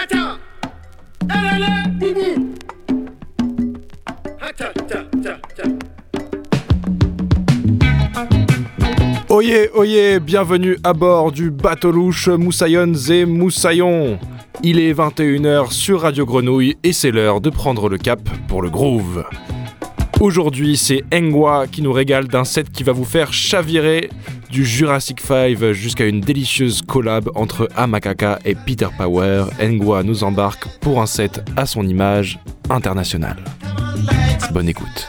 Oyez, oyez, bienvenue à bord du bateau louche Moussaillons et Moussaillons. Il est 21h sur Radio Grenouille et c'est l'heure de prendre le cap pour le groove. Aujourd'hui, c'est Engwa qui nous régale d'un set qui va vous faire chavirer du Jurassic 5 jusqu'à une délicieuse collab entre Amakaka et Peter Power. Engwa nous embarque pour un set à son image internationale. Bonne écoute.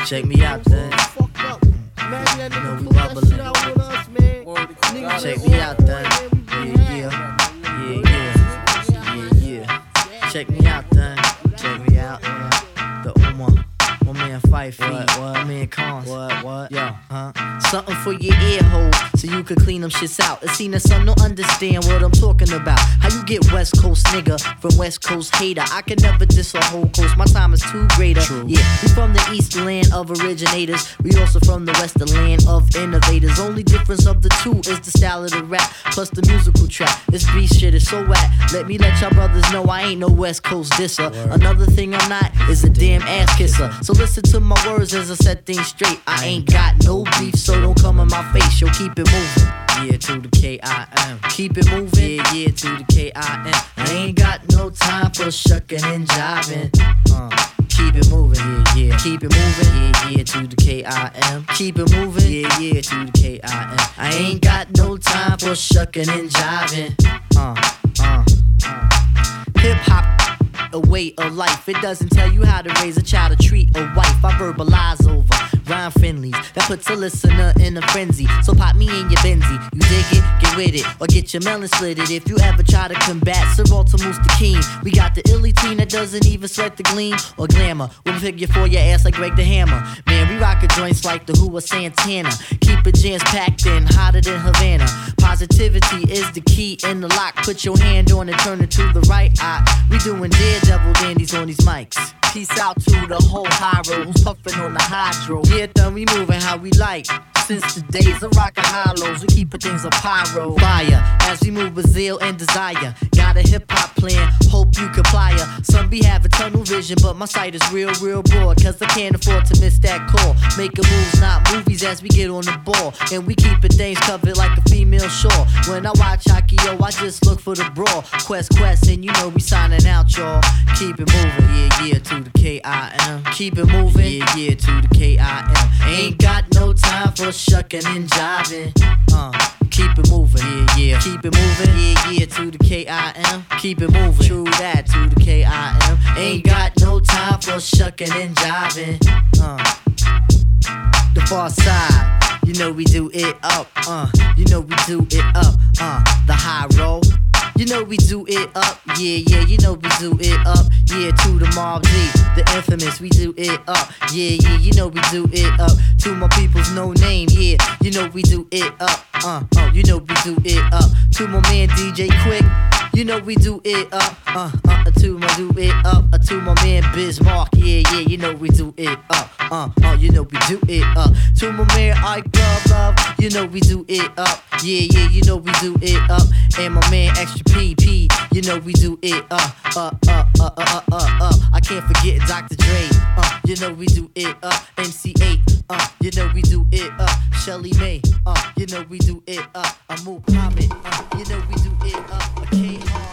Check me out then. You know we bubbling. Check me out then. Yeah. Check me out then. Check me out. The Uma. My man 5 feet, my man Cons. What? Yo, something for your ear hole, so you could clean them shits out. It seem that some don't understand what I'm talking about. How you get West Coast nigga from West Coast hater? I can never diss a whole coast, my time is too greater. True. Yeah, we from the East land of originators. We also from the West, the land of innovators. Only difference of the two is the style of the rap, plus the musical track. This beat shit is so whack. Let me let y'all brothers know I ain't no West Coast disser. Another thing I'm not is a damn ass kisser. So listen to my words as I set things straight. I ain't got no beef, so don't come in my face. Yo, keep it moving. Yeah, to the K-I-M. Keep it moving. Yeah, to the K-I-M. I ain't got no time for shucking and jiving. Keep it moving. Yeah. Keep it moving. Yeah, to the K-I-M. Keep it moving. Yeah, to the K-I-M. I ain't got no time for shucking and jiving. Hip hop, a way of life. It doesn't tell you how to raise a child or treat a wife. I verbalize over rhyme friendlies that puts a listener in a frenzy. So pop me in your Benzie. You dig it? Get with it. Or get your melon slitted. If you ever try to combat Sir Walter Moostakeen, we got the illy teen that doesn't even sweat the gleam or glamour. We'll figure for your ass like Greg the Hammer. Man, we rockin' joints like the Who or Santana. Keep it jams packed in, hotter than Havana. Positivity is the key in the lock. Put your hand on it, turn it to the right eye. We doing daredevil dandies on these mics. Peace out to the whole high road who's puffin' on the hydro. Yeah, then we moving how we like. Since the days of rockin' hollows, we keepin' things a pyro. Fire, as we move with zeal and desire. Got a hip-hop plan, hope you comply. Some be having tunnel vision, but my sight is real broad. Cause I can't afford to miss that call. Making moves, not movies, as we get on the ball. And we keepin' things covered like a female shore. When I watch hockey, yo, I just look for the brawl. Quest, and you know we signing out, y'all. Keep it moving, yeah, to the K-I-M. Keep it moving, yeah, to the K-I-M. Ain't got no time for shucking and jiving. Keep it moving, yeah. Keep it moving, yeah, to the K-I-M. Keep it moving, true that, to the K-I-M. Ain't got no time for shucking and jiving. The far side, you know we do it up, you know we do it up, the high roll. You know we do it up, yeah, you know we do it up, yeah, to the Mob D, the infamous, we do it up, yeah, you know we do it up, to my people's no name, yeah, you know we do it up, you know we do it up, to my man DJ Quick, you know we do it up, to my do it up, to my man Bismarck, yeah, you know we do it up, you know we do it up, to my man Ike Love, you know we do it up, yeah, you know we do it up, and my man Extra PP, you know we do it up, I can't forget Dr. Dre, you know we do it up, MC8, you know we do it up, Shelly May, you know we do it up, Muhammad, you know we do it up, K-Hard.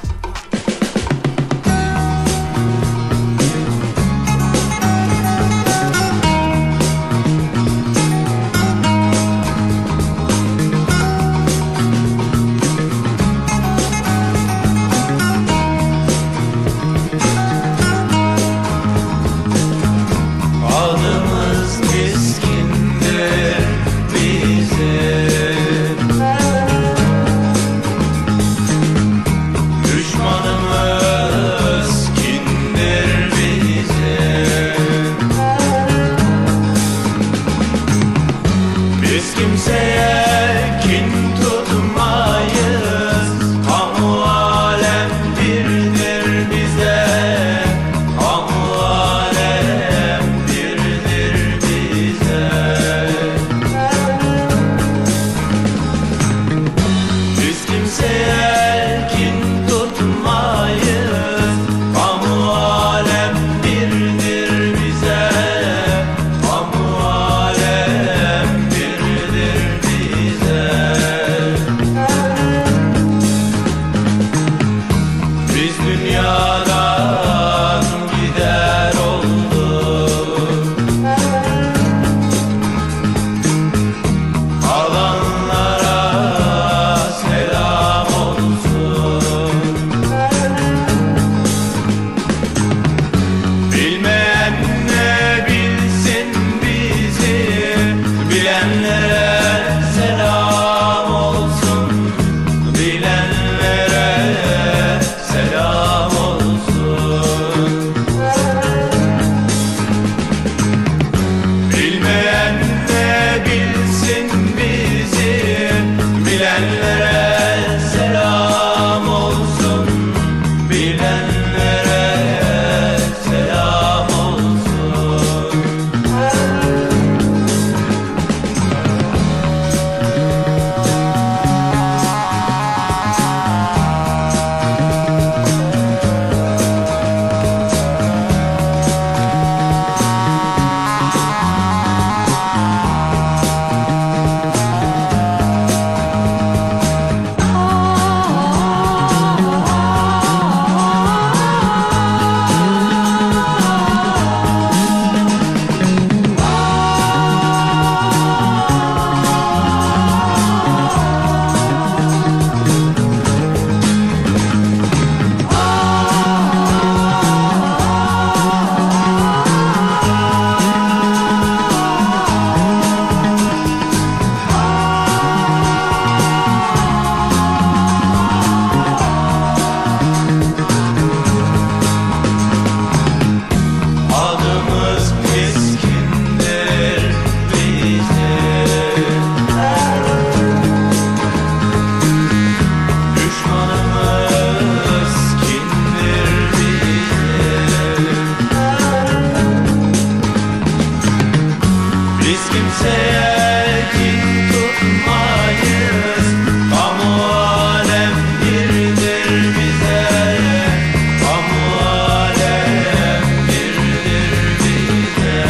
Biz kimseye kin tutmayız. Kamu alem birdir bize. Kamu alem birdir bize.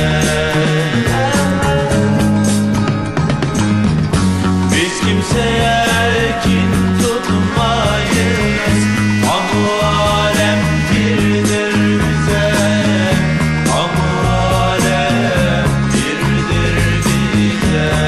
Biz kimseye kin tutmayız. Kamu alem birdir bize. Kamu alem birdir bize.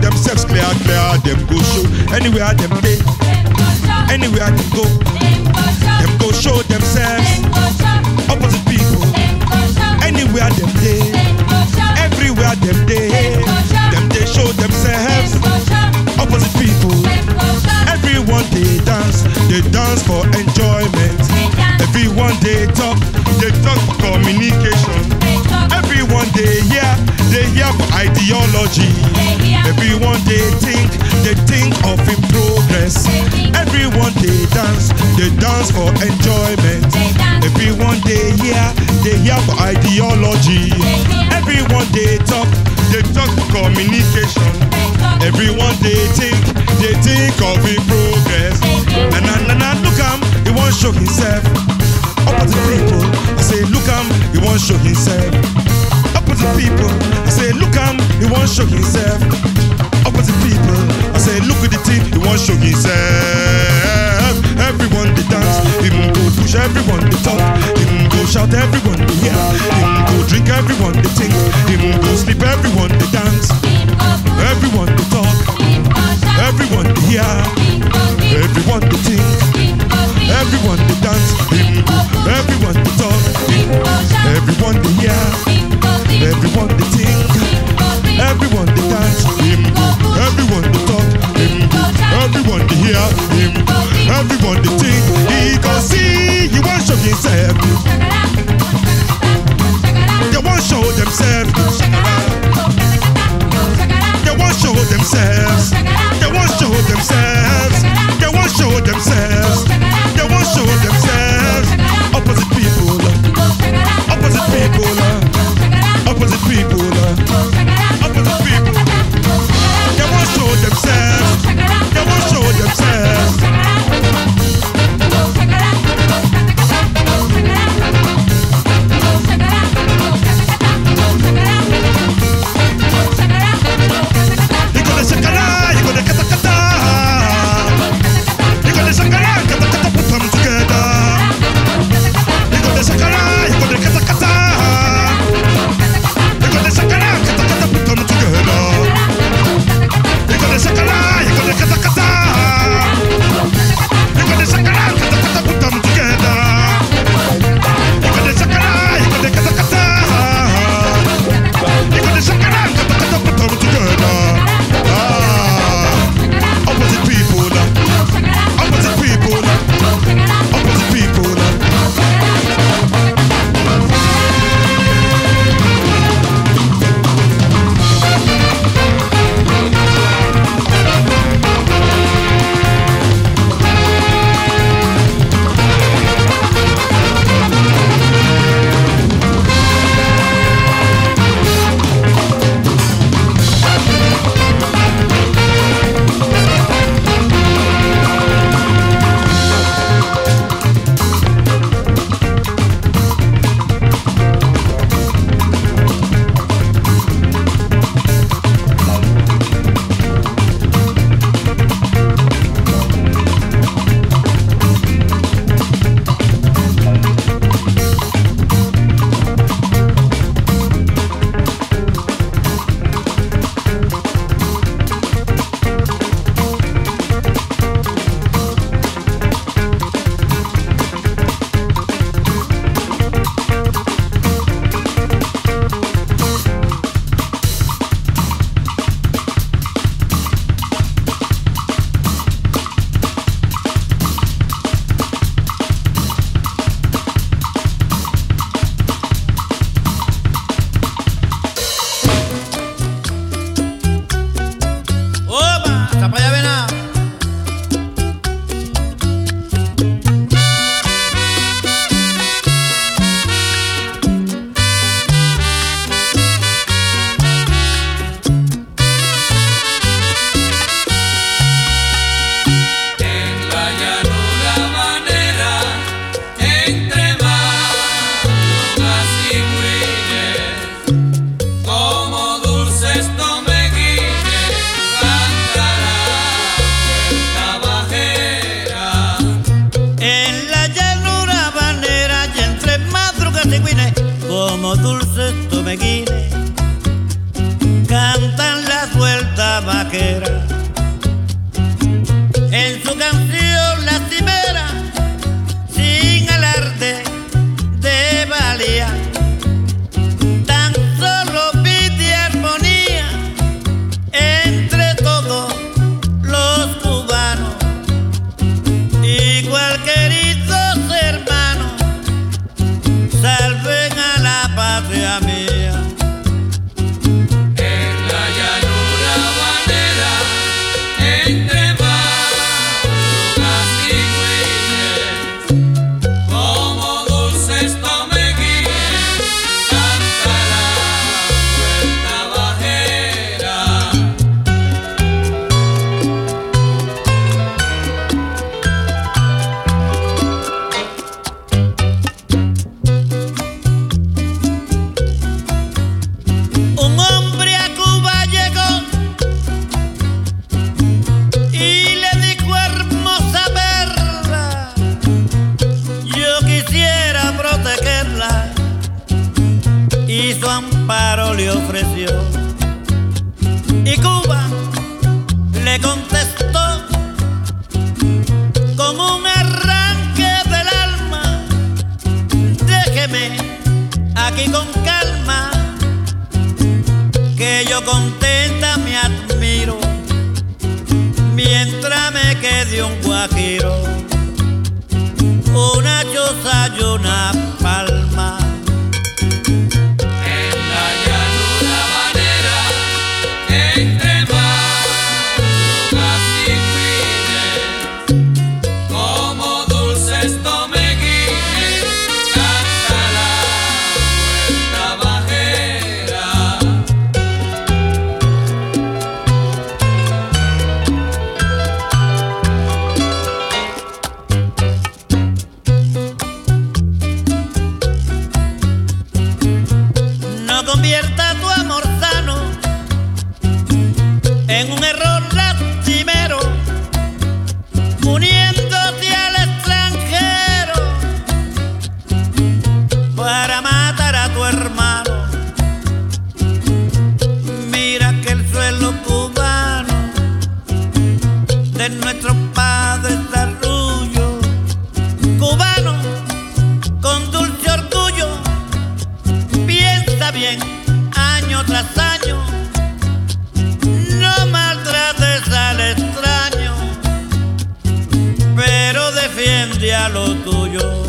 themselves clear, them go show anywhere them day, anywhere them go, them go show themselves. Opposite people, anywhere them day, everywhere them day, them they show themselves. Opposite people, everyone they dance for enjoyment. Everyone they talk for communication. Everyone they hear for ideology. Everyone they think of in progress. Everyone they dance for enjoyment. Everyone they hear for ideology. Everyone they talk for communication. Everyone they think of in progress. Na look he won't show himself. Opposite people, I say look he won't show himself. Opposite people, I say look he won't show himself. Opposite people, I say look at the thing, he won't show himself. Everyone they dance, him go push, everyone they talk, him go shout, everyone they hear, him go drink, everyone they think, him go sleep, everyone they dance, everyone they talk, everyone they hear, everyone they think, everyone they dance, everyone they talk, everyone they hear, everyone they think, everyone they dance, everyone they talk, everyone they hear, everyone they think. He can see, he won't show himself. They won't show themselves. They won't show themselves. They won't show themselves. They won't show themselves. They won't show themselves. Opposite people. Opposite people. Opposite people. Opposite people. They won't show themselves. They won't show themselves. vaquera. En su canción lastimera, sin alarde de valía, tan solo pide armonía entre todos los cubanos y cualquieritos hermanos. Salven a la patria mía. En la llanura habanera, entre madrugas y güines, como dulces tomeguines, canta la vuelta bajera. Un hombre a Cuba llegó y le dijo: hermosa perla, yo quisiera protegerla, y su amparo le ofreció. Y Cuba le contestó con un arranque del alma: déjeme aquí con calma, que yo contenta me admiro, mientras me quede un guajiro, una choza y una palma. En la llanura habanera, entre madrugas y güines, como dulces tomeguines, canta la vuelta bajera. No convierta tu amor sano en un error lastimero, uniéndote al extranjero para matar a tu hermano. Mira que el suelo cubano de nuestros padres da orgullo, cubano con dulce orgullo. Piensa bien, año tras año, no maltrates al extraño, pero defiende a lo tuyo.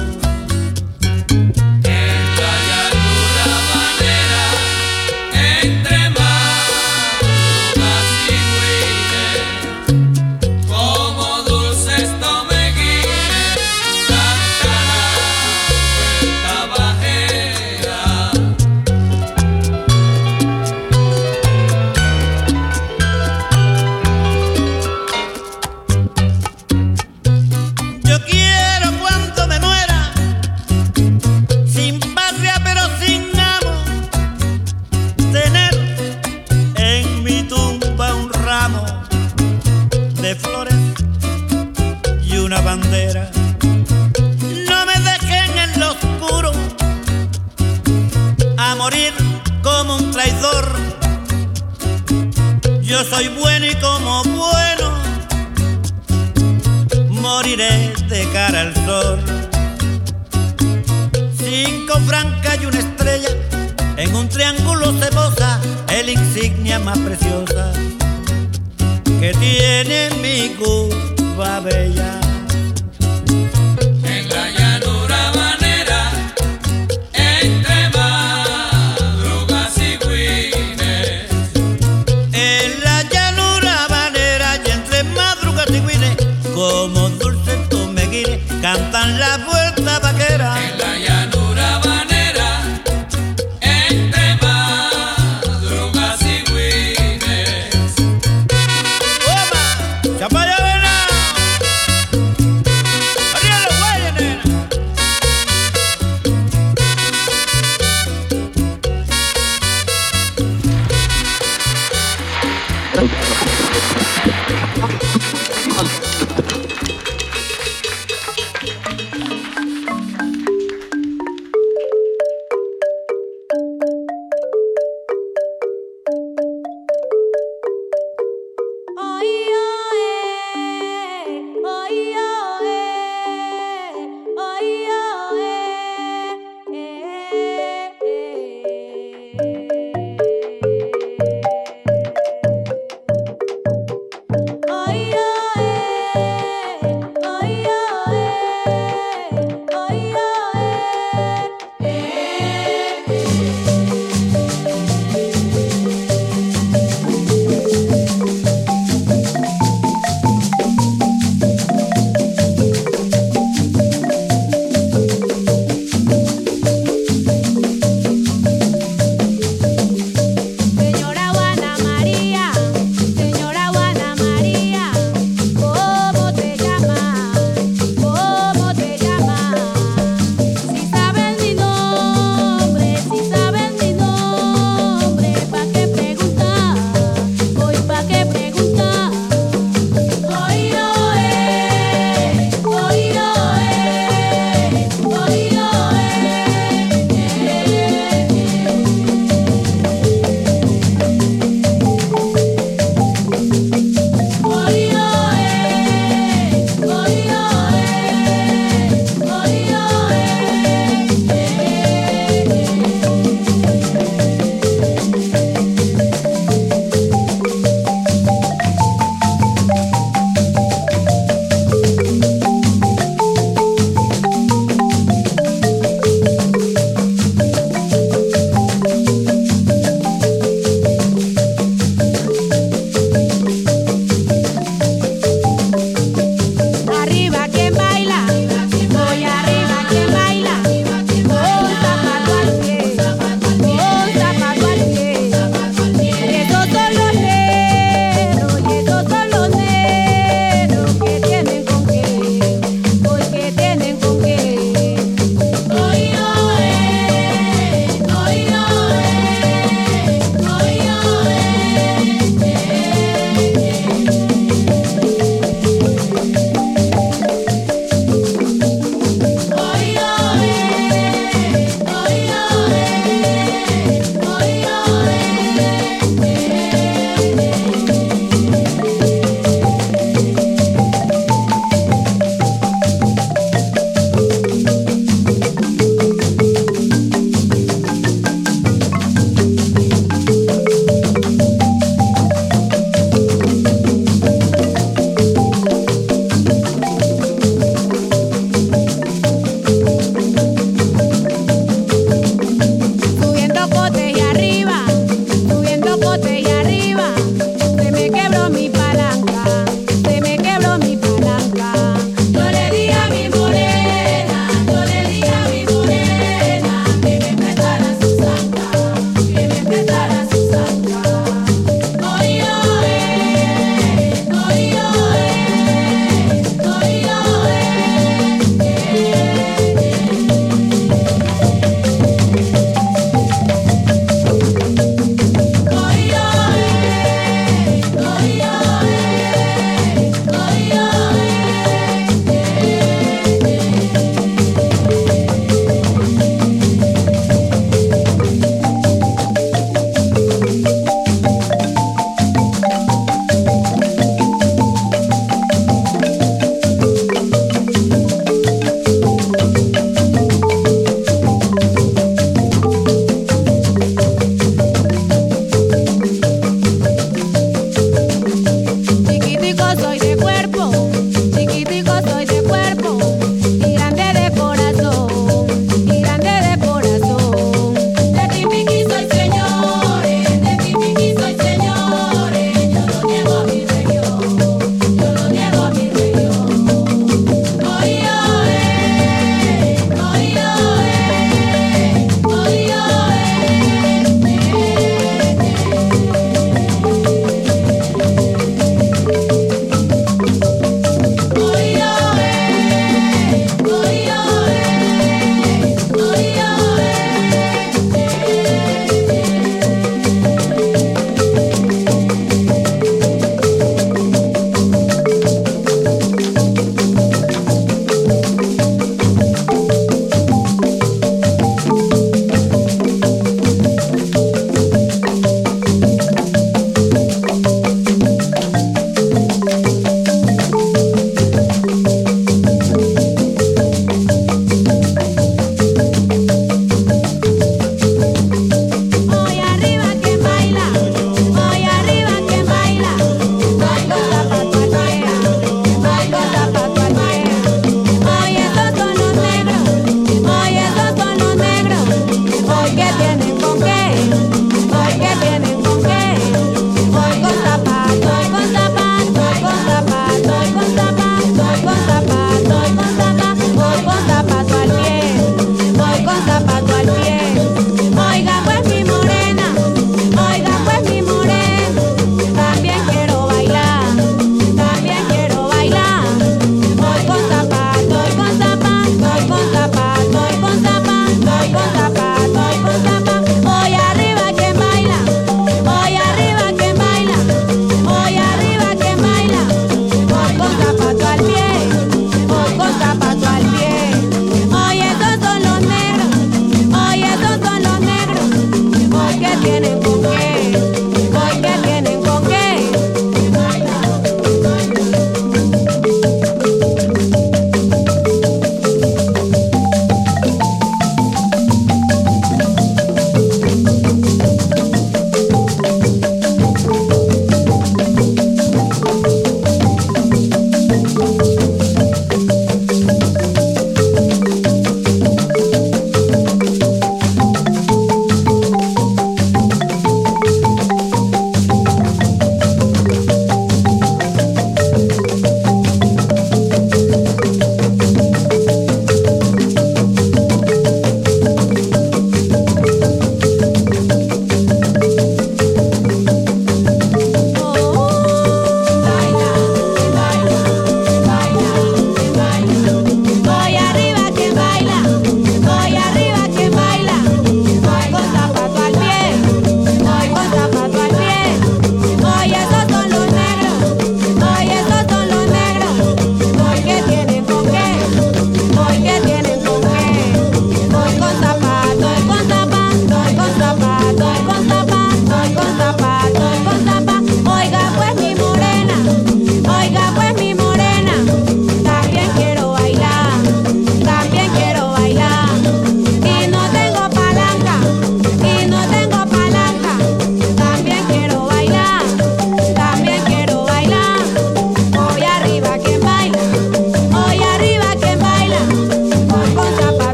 En la llanura habanera, entre madrugas y güines, como dulces tomeguines, canta la vuelta bajera. Yo quiero cuando me muera, sin patria pero sin amo, tener en mi tumba un ramo de flores y una bandera. No me dejen en lo oscuro a morir como un traidor. Yo soy bueno y como bueno moriré de cara al sol. 5 francas y una estrella, en un triángulo se posa el insignia más preciosa que tiene mi Cuba bella. En la llanura habanera, entre madrugas y güines, En la llanura habanera y entre madrugas y güines, como dulces tomeguines, cantan la vuelta vaquera. en la llanura habanera, entre madrugas y güines. ¡Toma! ¡Chapaya venado! ¡Arriba los güeyes, nena!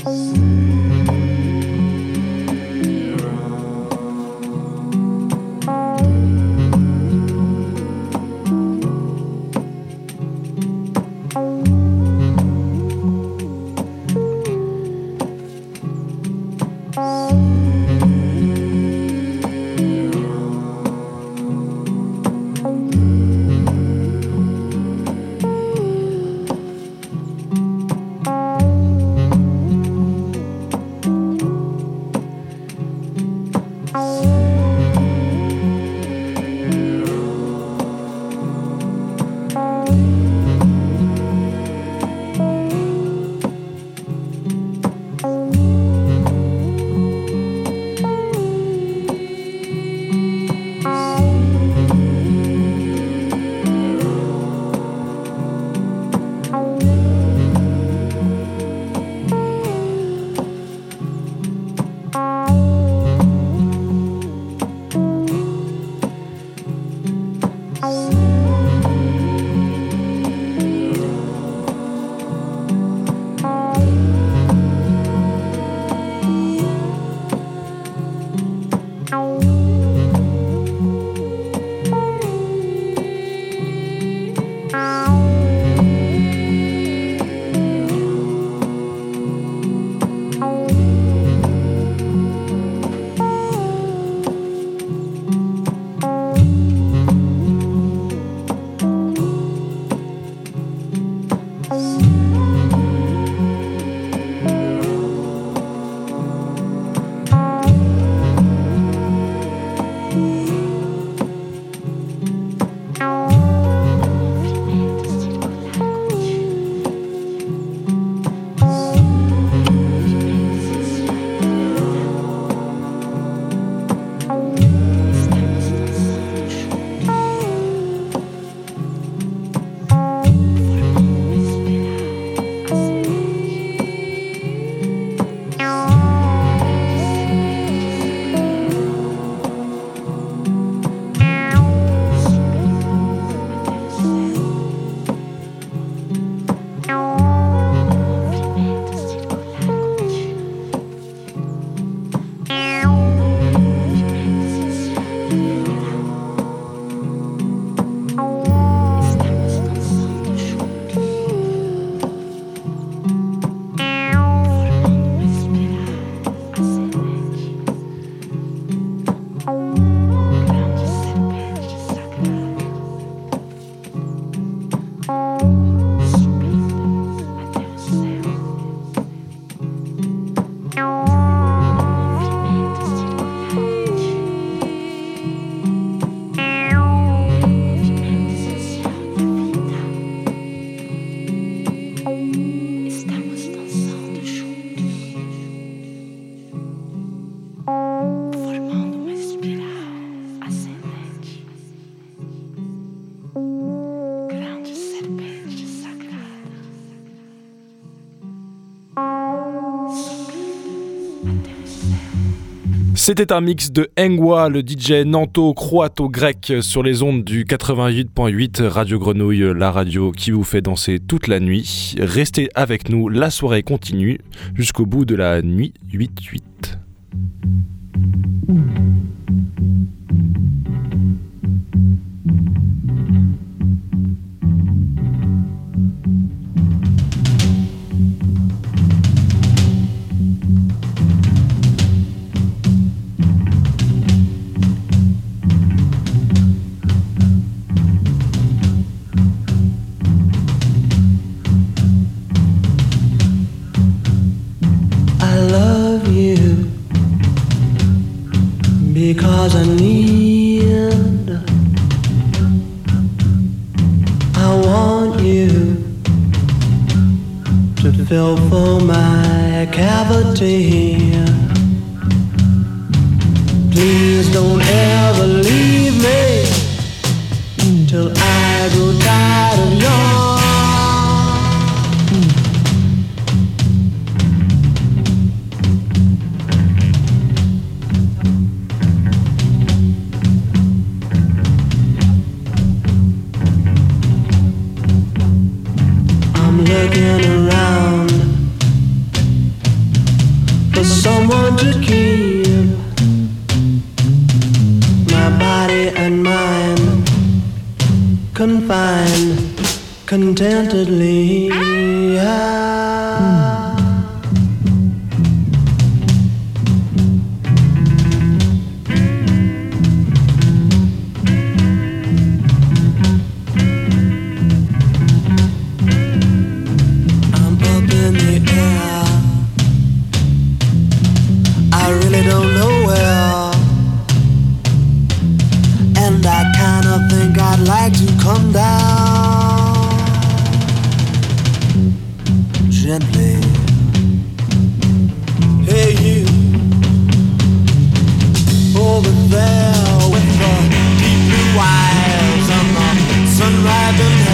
C'était un mix de Engwa, le DJ nanto-croato-grec sur les ondes du 88.8 Radio Grenouille, la radio qui vous fait danser toute la nuit. Restez avec nous, la soirée continue jusqu'au bout de la nuit 8-8. Because I need, I want you to fill full my cavity. Please don't ever leave me till I grow tired of yours. Looking around want to keep my body and mind confined contentedly. Come down gently. Hey, you over there with the deep blue eyes and the sunrise.